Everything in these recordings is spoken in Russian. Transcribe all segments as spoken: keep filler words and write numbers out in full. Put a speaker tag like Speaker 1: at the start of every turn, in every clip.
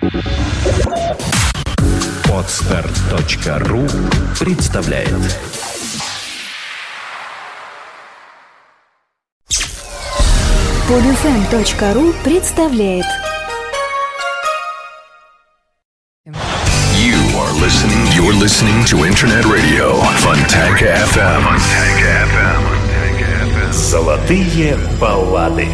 Speaker 1: Подстер точка ру представляет.
Speaker 2: Подфм точка ру представляет.
Speaker 1: You are listening, you're listening to Internet Radio Fontanka эф эм. Fontanka эф эм. Золотые баллады.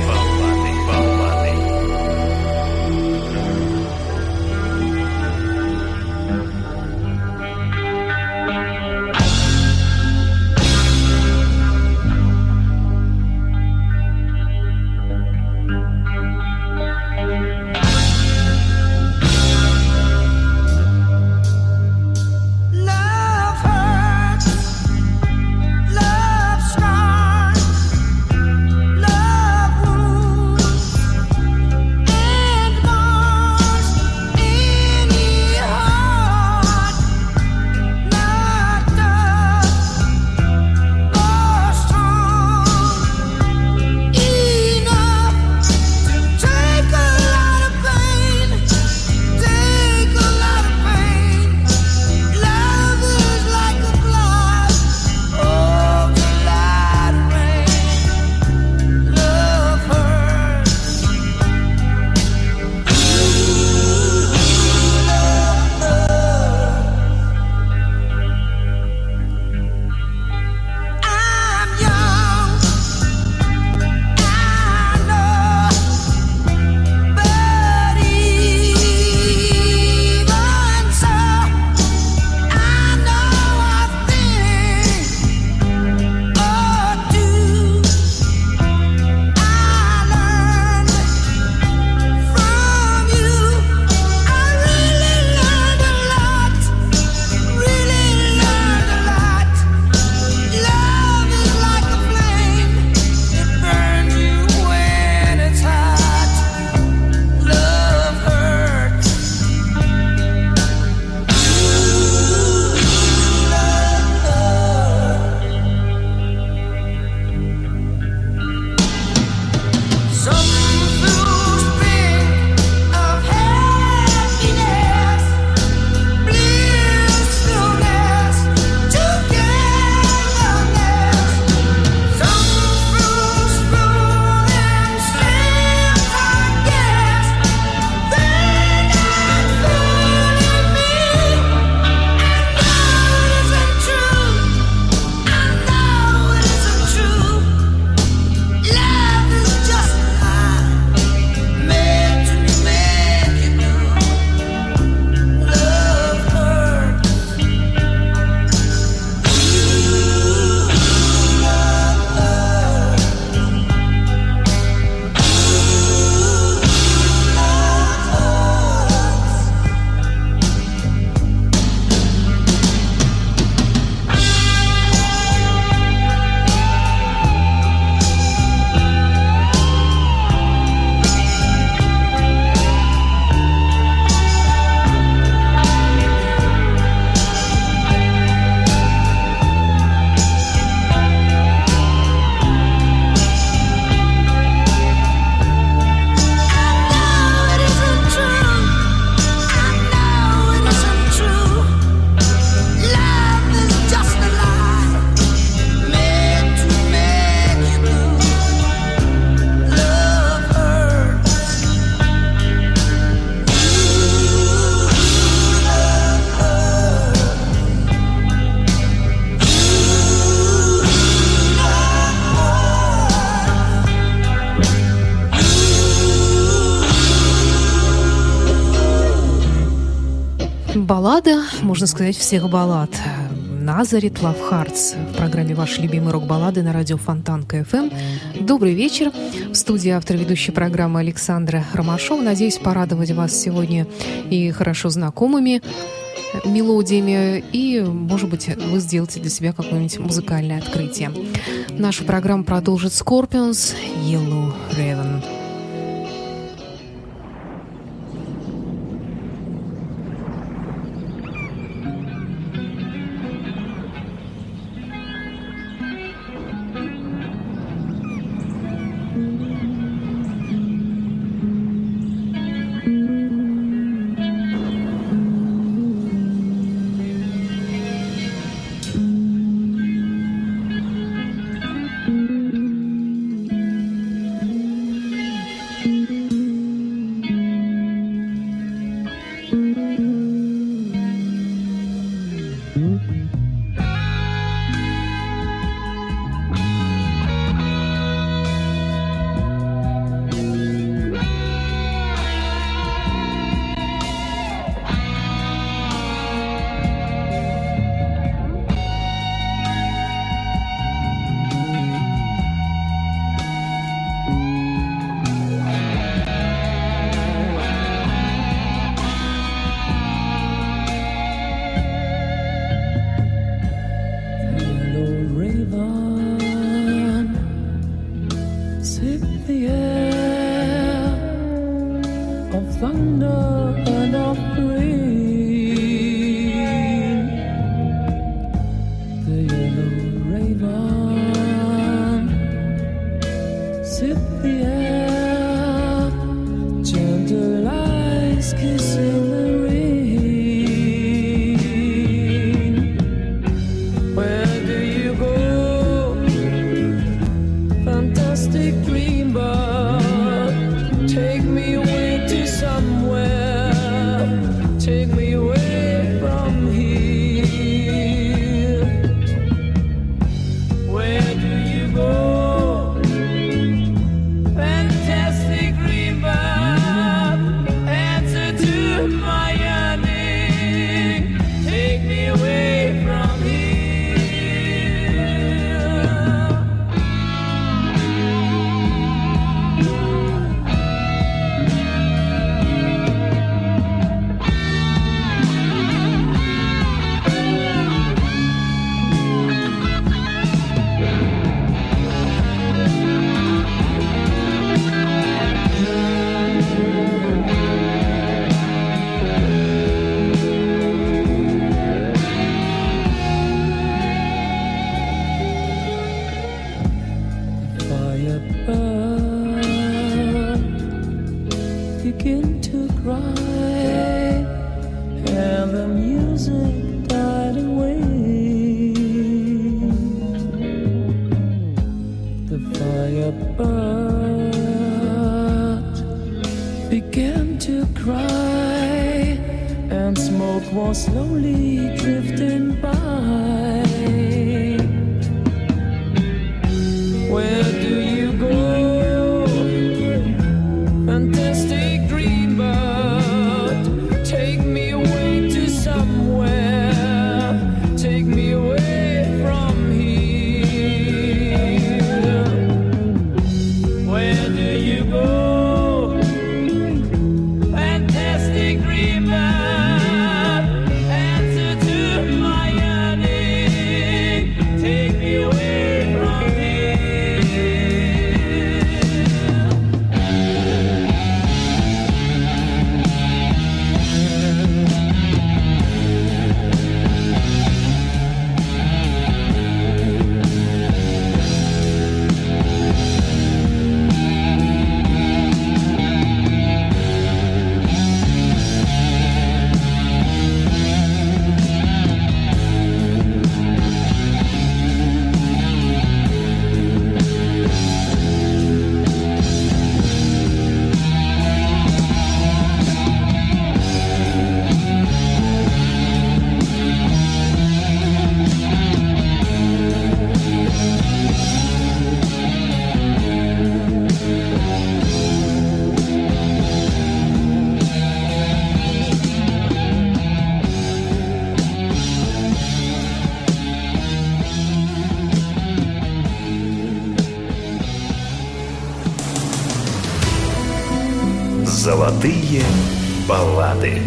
Speaker 3: Баллада, можно сказать, всех баллад. Nazareth Love Hearts в программе «Ваши любимые рок-баллады» на радио Фонтанка эф эм. Добрый вечер. В студии автор ведущей программы Александра Ромашова. Надеюсь порадовать вас сегодня и хорошо знакомыми мелодиями, и, может быть, вы сделаете для себя какое-нибудь музыкальное открытие. Нашу программу продолжит Scorpions Yellow Raven.
Speaker 1: Золотые баллады.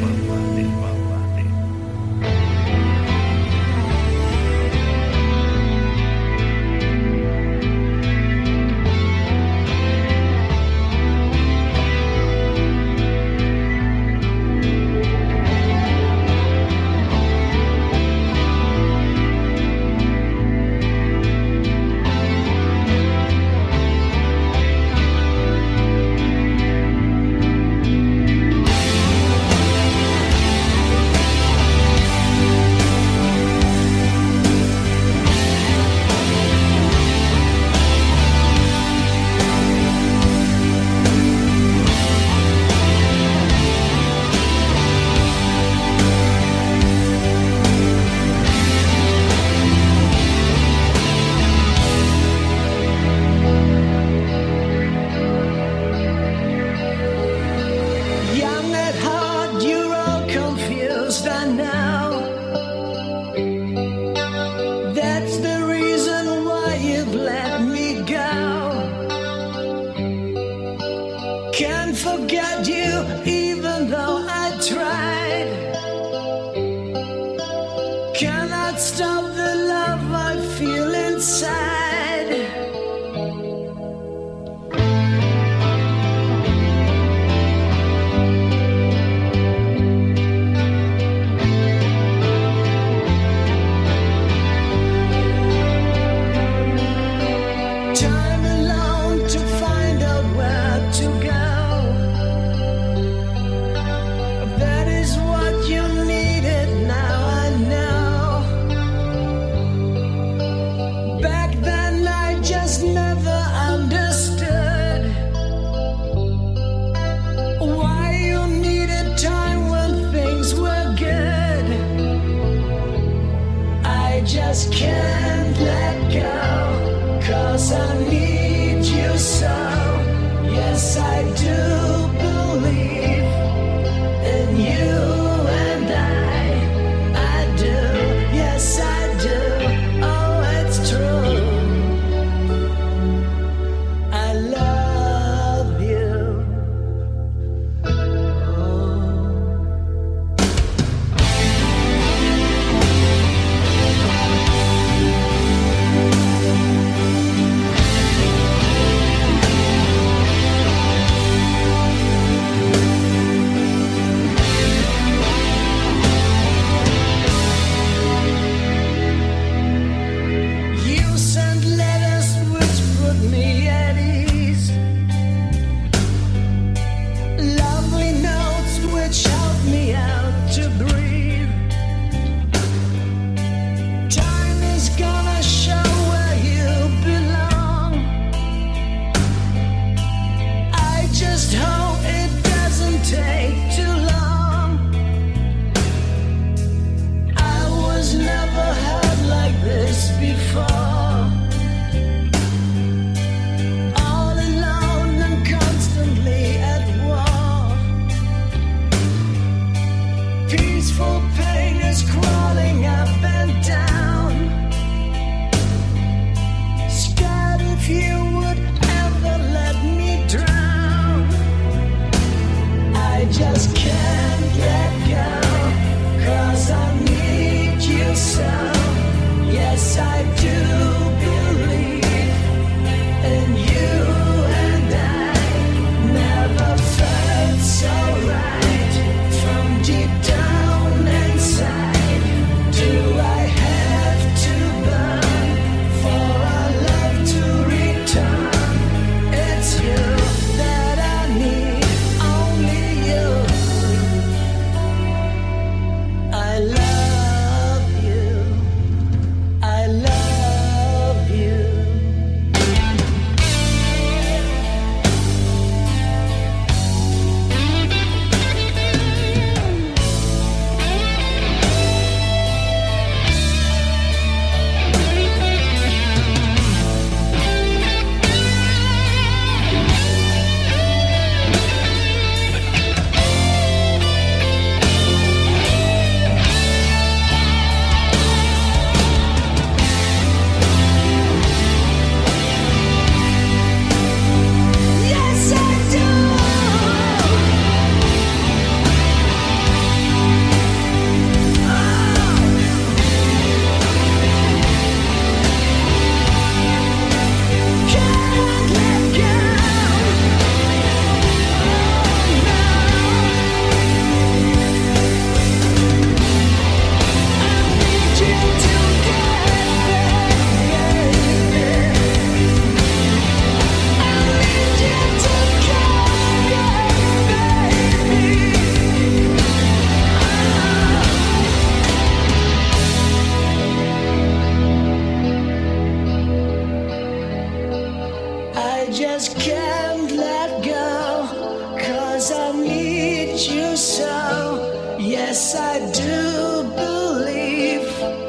Speaker 4: Yes, I do believe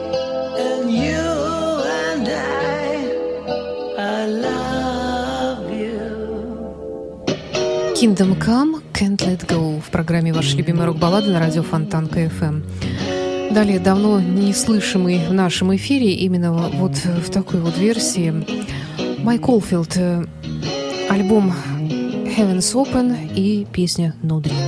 Speaker 4: in you and I, I love you.
Speaker 3: Kingdom Come, Can't Let Go в программе «Ваши любимые рок-баллады» на радио Фонтанка эф эм. Далее давно не слышимый в нашем эфире именно вот в такой вот версии Майк Олфилд, альбом Heaven's Open и песня No Dream.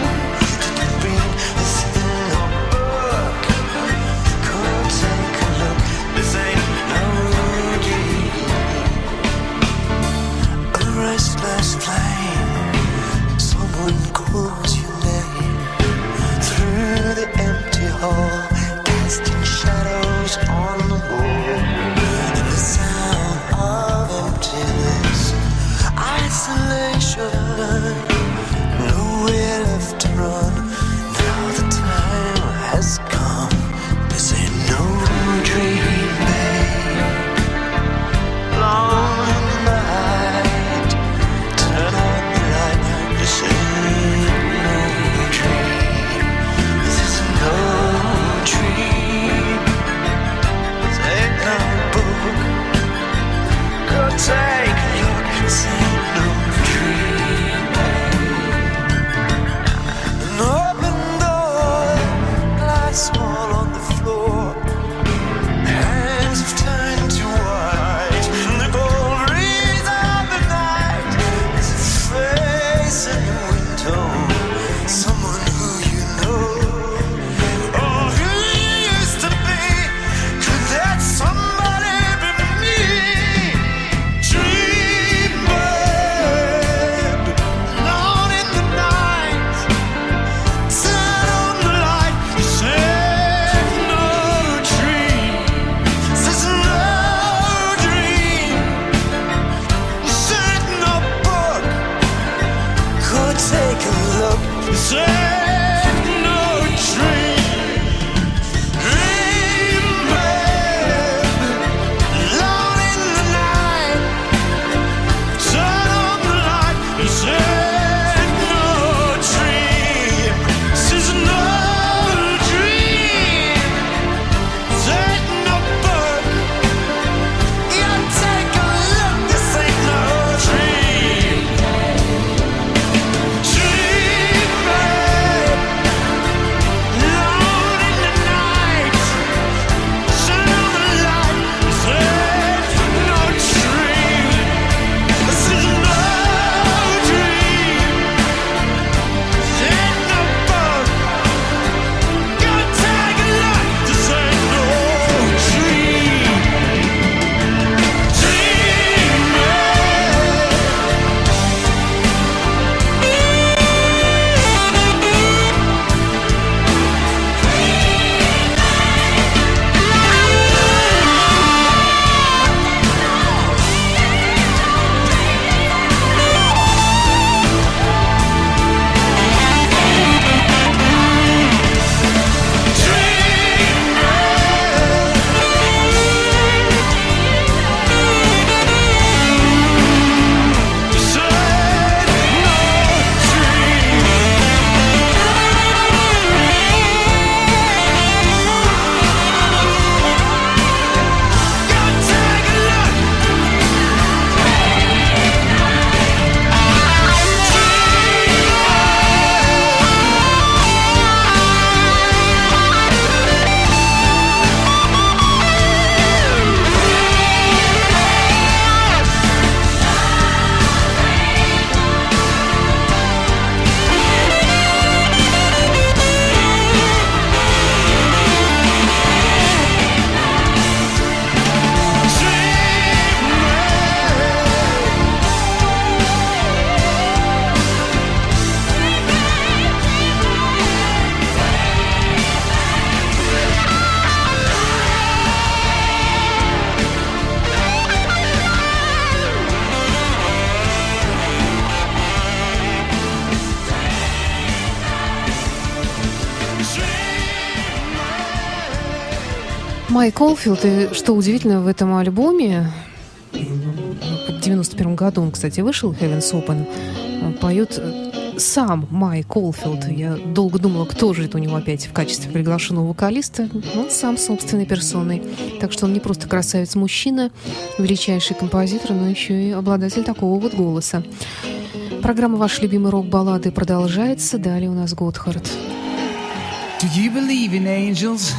Speaker 4: Take a look.
Speaker 3: Майк Олфилд, и что удивительно в этом альбоме, в девяносто первом году он, кстати, вышел, Heaven's Open, поет сам Майк Олфилд. Я долго думала, кто же это у него опять в качестве приглашенного вокалиста. Он сам собственной персоной. Так что он не просто красавец-мужчина, величайший композитор, но еще и обладатель такого вот голоса. Программа «Ваши любимые рок-баллады» продолжается. Далее у нас Готхард.
Speaker 5: Do you believe in angels?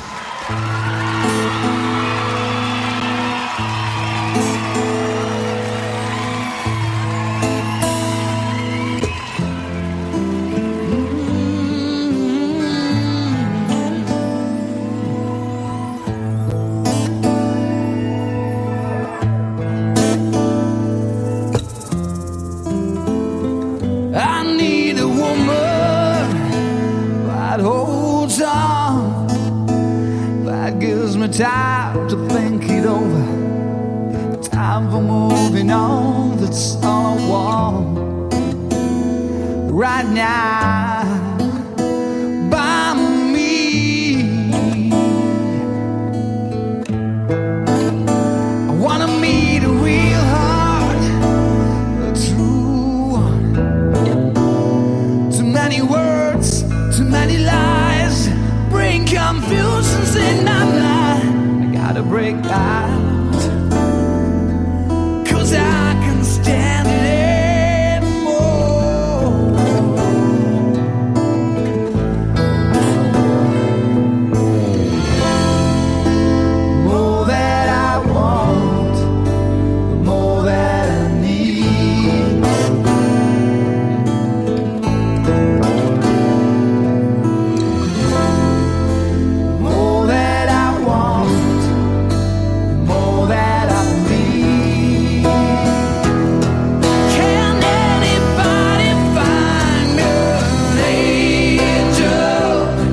Speaker 5: Time to think it over. Time for moving on. That's all I want right now. By me, I wanna meet a real heart, a true one. Too many words, too many lies bring confusions in my mind. To break out, 'cause I can stand it anymore. More that I want, the more that I need. More that I want, that I need. Can anybody find an angel?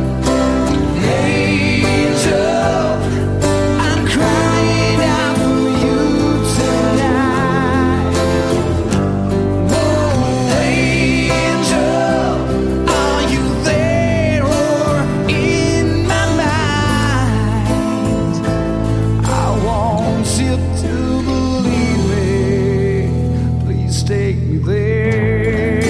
Speaker 5: Angel, I'm crying out for you tonight. Oh, angel, are you there or in my mind? I want you to believe me, please take me there,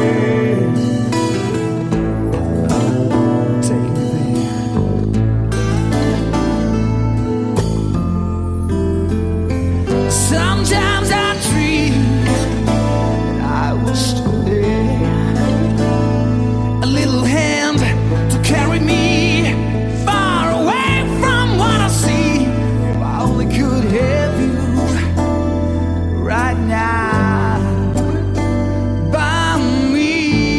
Speaker 5: take me there. Sometimes I dream I was still there, a little hand to carry me far away from what I see. If I only could have you right now by me.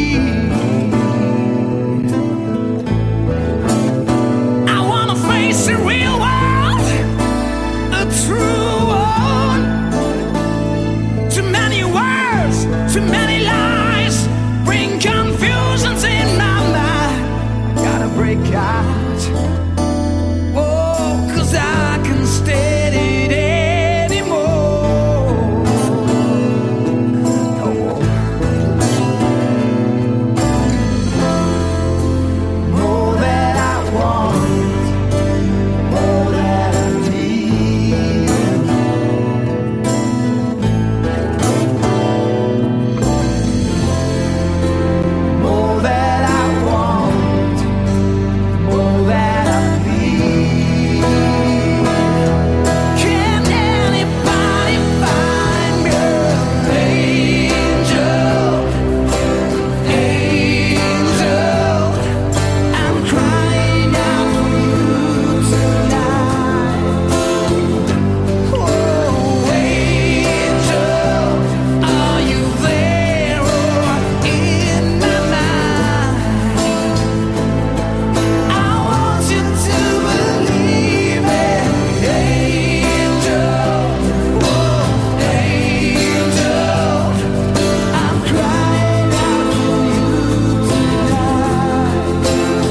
Speaker 5: I wanna face the real world, a true one. Too many words, too many lies bring confusions in my mind. I gotta break out. Oh, 'cause I can stand it anymore. No. More that I want, more that I need. More that I want, more that I need. Can anybody find me an angel? Angel, I'm crying out for you tonight. Oh, angel, are you there or in my mind? I want you to believe it, angel. Oh, angel, I'm crying out for you tonight.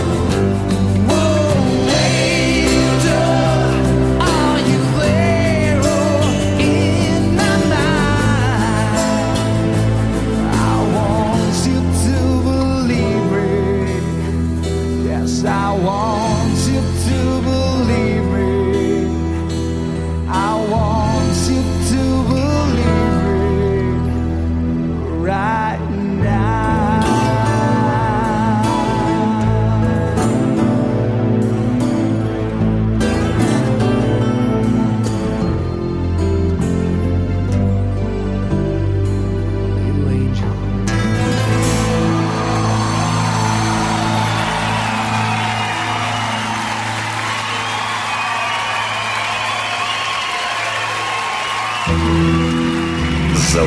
Speaker 5: Oh, angel, are you there or in my mind? I want you to believe it. Yes, I want you to believe me.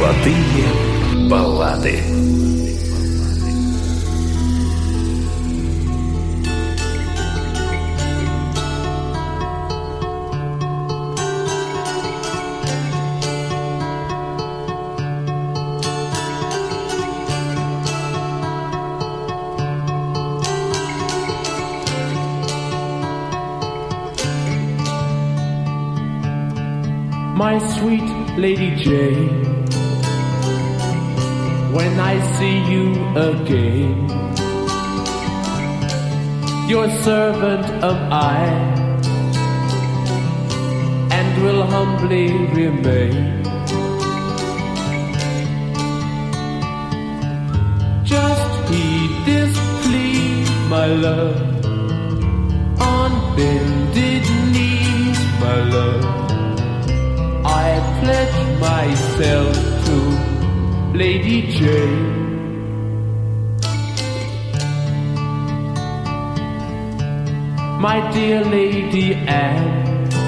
Speaker 1: Золотые баллады.
Speaker 6: My sweet Lady Jane, when I see you again, your servant am I, and will humbly remain. Just heed this plea, my love, on bended knees, my love. I pledge myself to Lady Jane. My dear Lady Anne,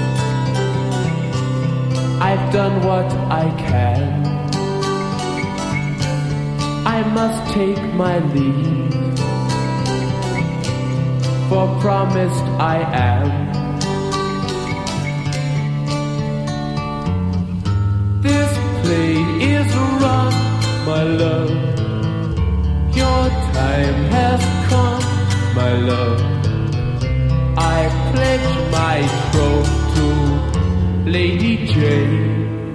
Speaker 6: I've done what I can. I must take my leave, for promised I am. This play is run, my love. Your time has come, my love. I pledge my troth to Lady Jane.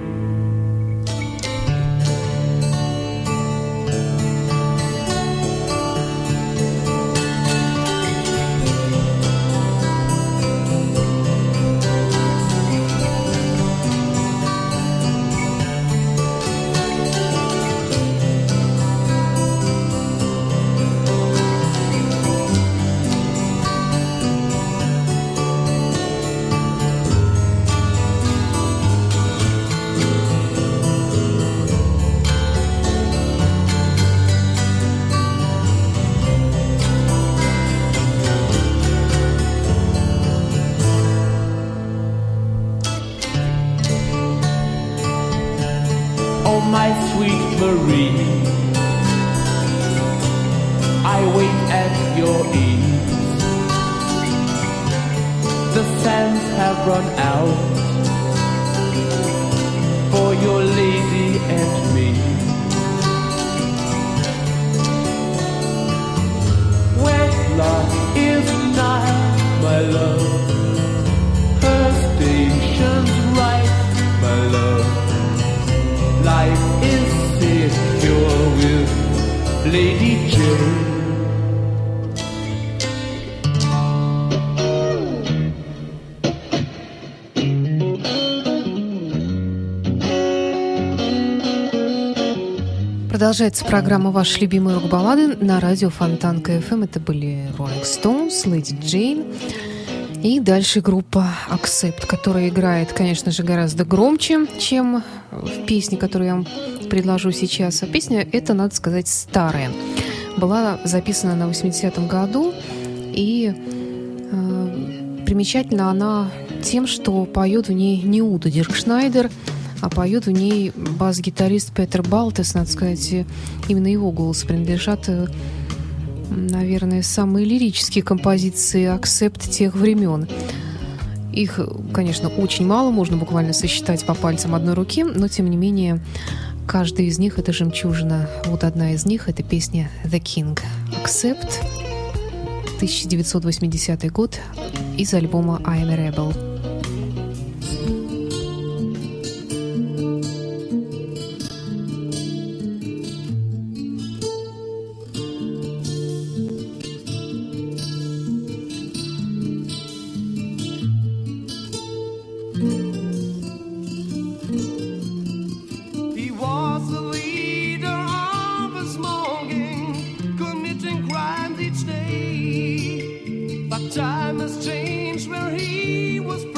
Speaker 6: My sweet Marie, I wait at your ease. The sands have run out for your lady and me. Wedlock is nigh, my love. Her station's right, my love. Life is secure with Lady Jane.
Speaker 3: Продолжается программа «Ваши любимые рок-баллады» на радио Фонтанка эф эм. Это были Rolling Stones, Lady Jane. И дальше группа Accept, которая играет, конечно же, гораздо громче, чем в песне, которую я вам предложу сейчас. А песня эта, надо сказать, старая. Была записана на восьмидесятом году, и э, примечательна она тем, что поет в ней не Уда Диркшнайдер, а поет в ней бас-гитарист Петер Балтес. Надо сказать, именно его голос принадлежат, наверное, самые лирические композиции Accept тех времен. Их, конечно, очень мало, можно буквально сосчитать по пальцам одной руки, но, тем не менее, каждая из них — это жемчужина. Вот одна из них — это песня «The King». Accept, тысяча девятьсот восьмидесятый год, из альбома «I'm a Rebel».
Speaker 5: Time has changed where he was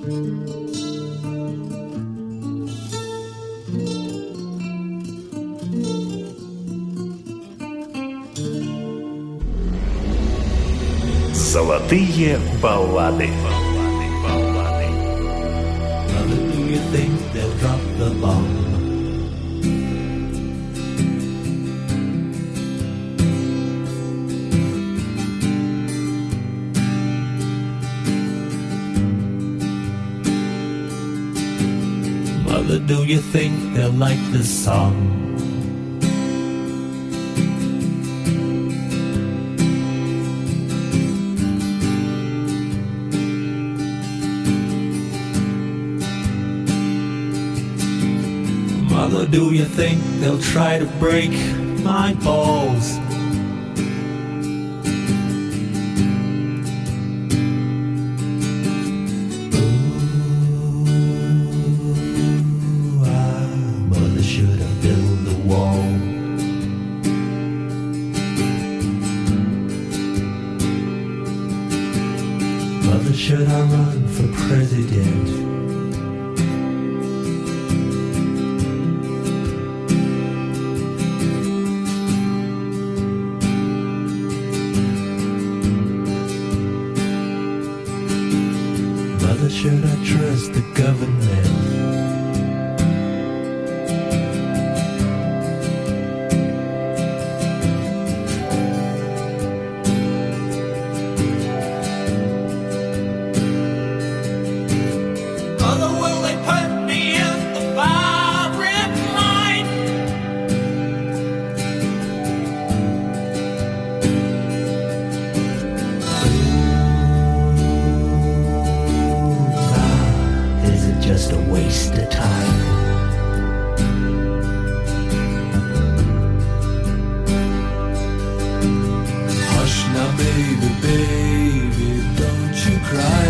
Speaker 1: Золотые баллады.
Speaker 7: Mother, do you think they'll drop the bomb? Mother, do you think they'll like this song? Mother, do you think they'll try to break my balls? Ooh, ah, mother should have built the wall. Mother, should I run for president? Should I trust the government? Mother, will they put me in the firing line? Just a waste of time. Hush now, baby, baby, don't you cry.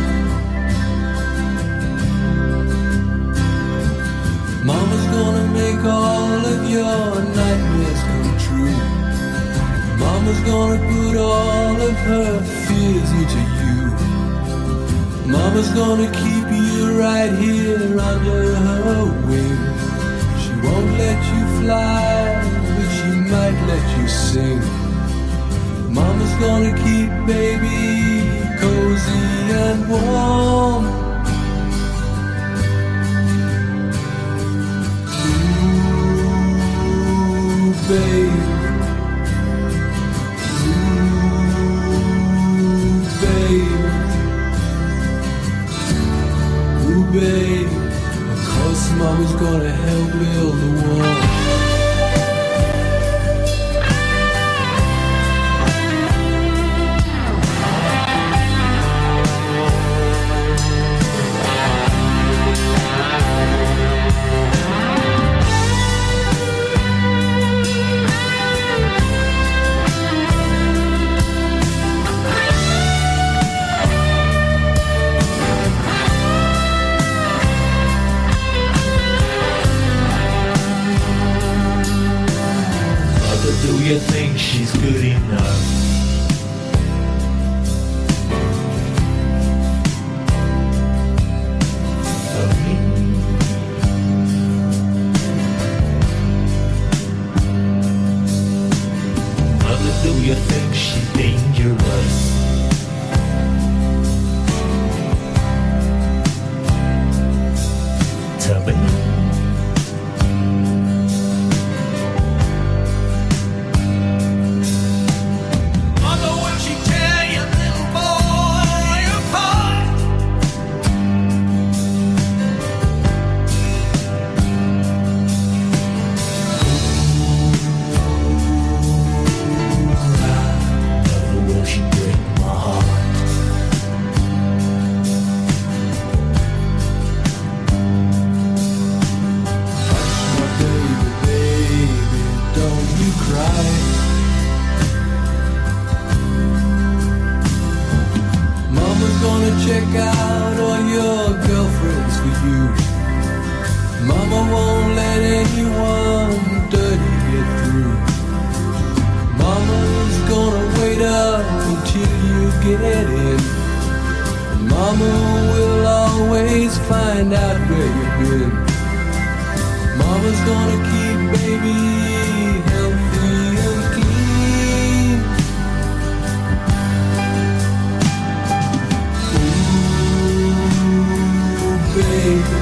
Speaker 7: Mama's gonna make all of your nightmares come true. Mama's gonna put all of her fears into you. Mama's gonna keep you right here under her wing. She won't let you fly, but she might let you sing. Mama's gonna keep baby cozy and warm. Ooh, babe. Ooh, babe. Babe, of course Mama's gonna help build the wall. Do you think she's good enough? For me? Mother, do you think she's dangerous? To me? Check out all your girlfriends for you. Mama won't let anyone dirty get through. Mama's gonna wait up until you get in. Mama will always always find out where you've been. Mama's gonna keep baby healthy and clean. Ooh, baby.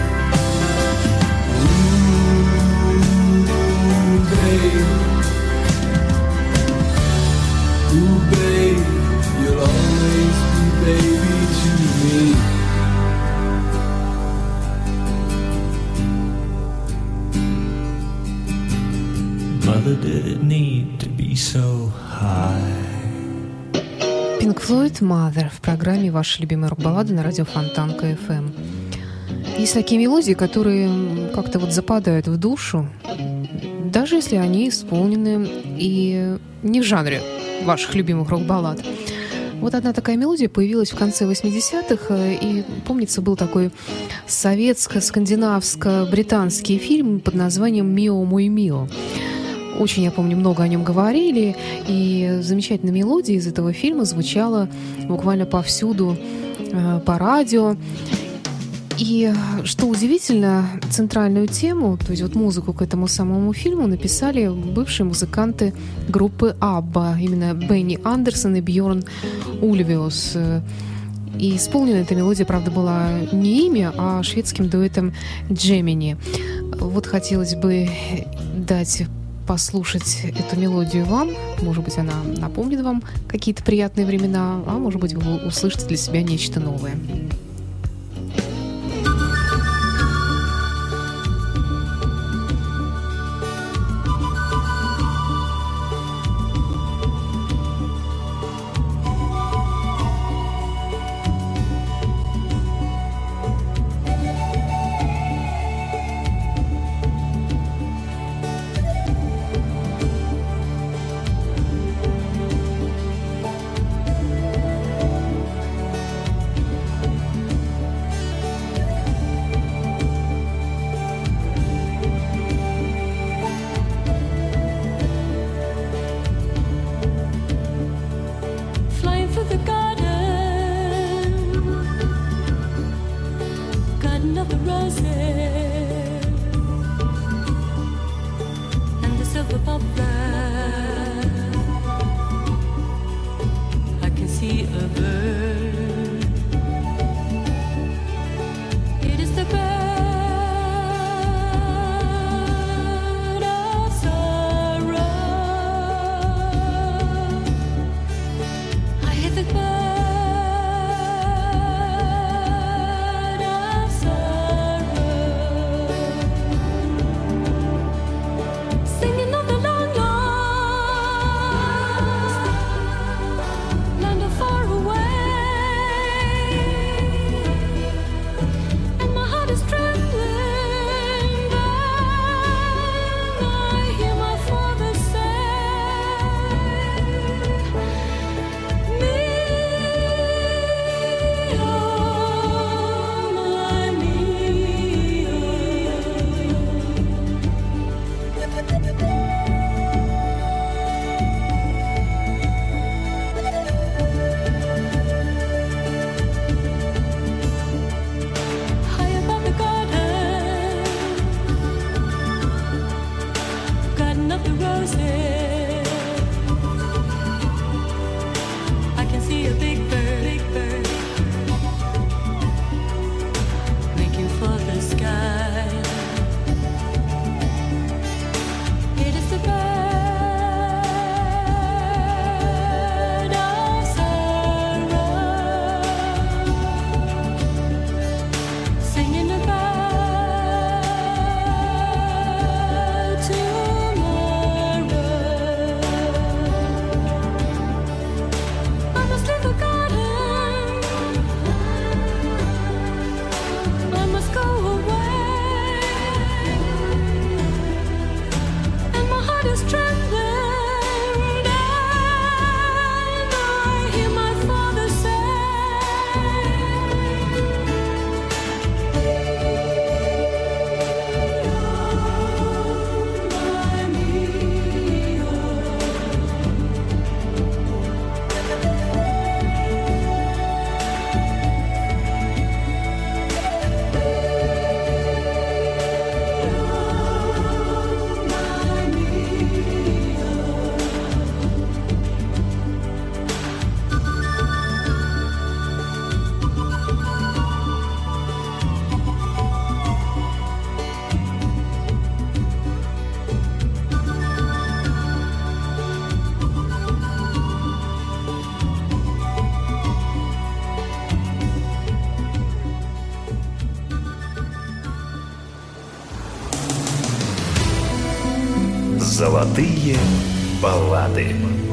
Speaker 7: Ooh, baby. Ooh, baby, you'll always be baby to me.
Speaker 6: Mother, did it need to be so high?
Speaker 3: Pink Floyd Mother в программе «Ваши любимые рок-баллады» на радио Фонтанка эф эм. Есть такие мелодии, которые как-то вот западают в душу, даже если они исполнены и не в жанре ваших любимых рок-баллад. Вот одна такая мелодия появилась в конце восьмидесятых, и, помнится, был такой советско-скандинавско-британский фильм под названием «Мио, мой мио». Очень, я помню, много о нем говорили, и замечательная мелодия из этого фильма звучала буквально повсюду э, по радио. И, что удивительно, центральную тему, то есть вот музыку к этому самому фильму написали бывшие музыканты группы Абба, именно Бенни Андерсон и Бьорн Ульвиус. И исполнена эта мелодия, правда, была не ими, а шведским дуэтом Джемини. Вот хотелось бы дать послушать эту мелодию вам. Может быть, она напомнит вам какие-то приятные времена, а может быть, вы услышите для себя нечто новое.
Speaker 8: Singing of the long, long
Speaker 1: Золотые баллады.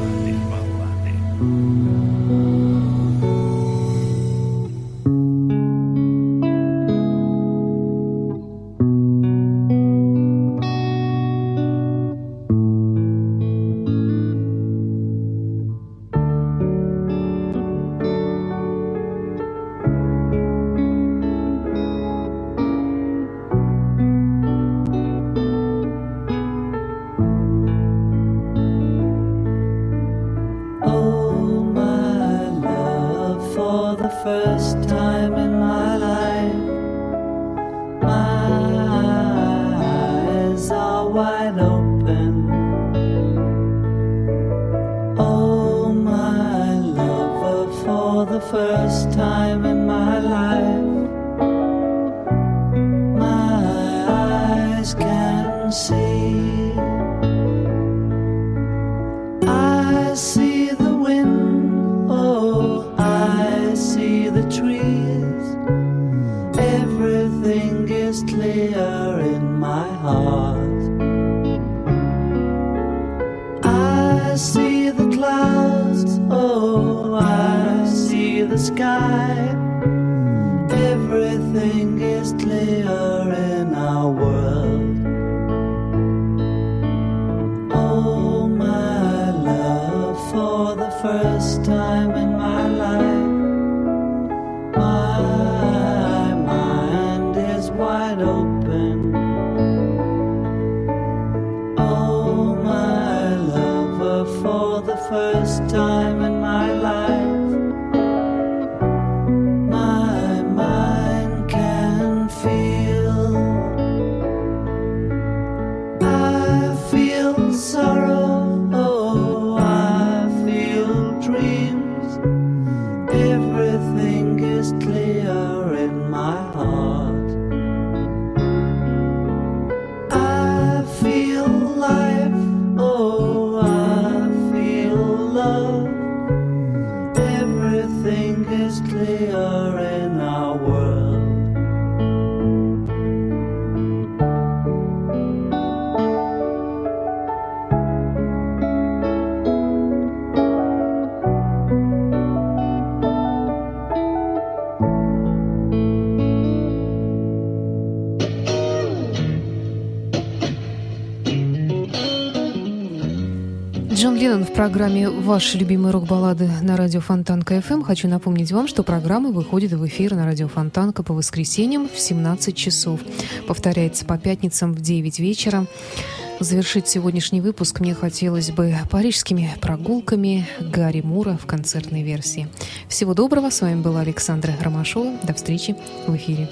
Speaker 3: Джон Леннон в программе «Ваши любимые рок-баллады» на радио Фонтанка эф эм. Хочу напомнить вам, что программа выходит в эфир на радио Фонтанка по воскресеньям в семнадцать часов. Повторяется по пятницам в девять вечера. Завершить сегодняшний выпуск мне хотелось бы парижскими прогулками Гарри Мура в концертной версии. Всего доброго. С вами была Александра Ромашова. До встречи в эфире.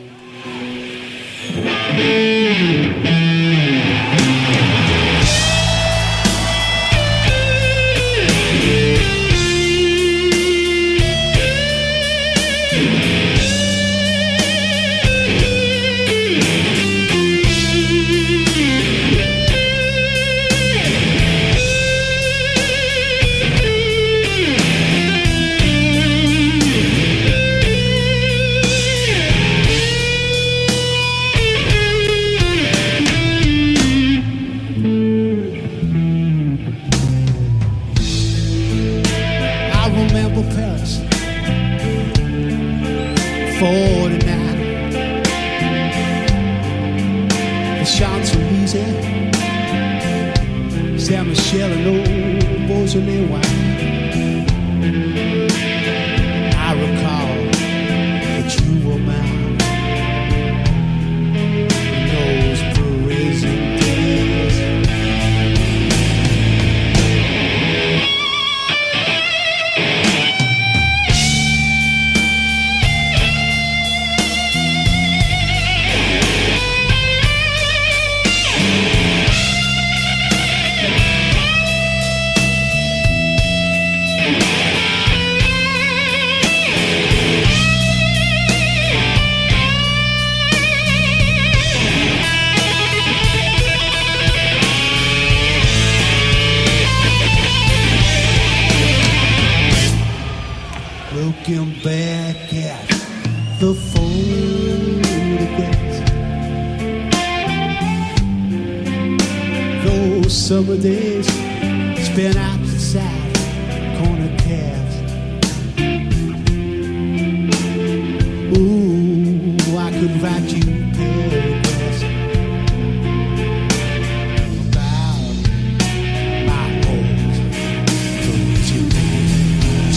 Speaker 8: Saint-Michel and old Beaujolais wine. I recall that you were mine in those Parisian days. summer days spent outside corner cabs. Ooh, I could write you paragraphs about my old Parisian days.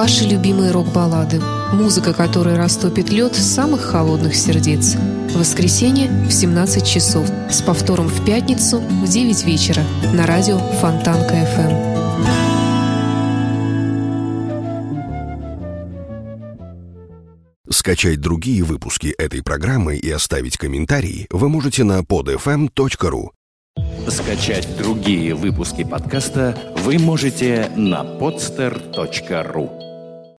Speaker 3: Ваши любимые рок-баллады. Музыка, которая растопит лед самых холодных сердец. В воскресенье в семнадцать часов. С повтором в пятницу в девять вечера на радио Фонтанка эф эм.
Speaker 9: Скачать другие выпуски этой программы и оставить комментарии вы можете на под эф эм точка ру.
Speaker 10: Скачать другие выпуски подкаста вы можете на подстер точка ру.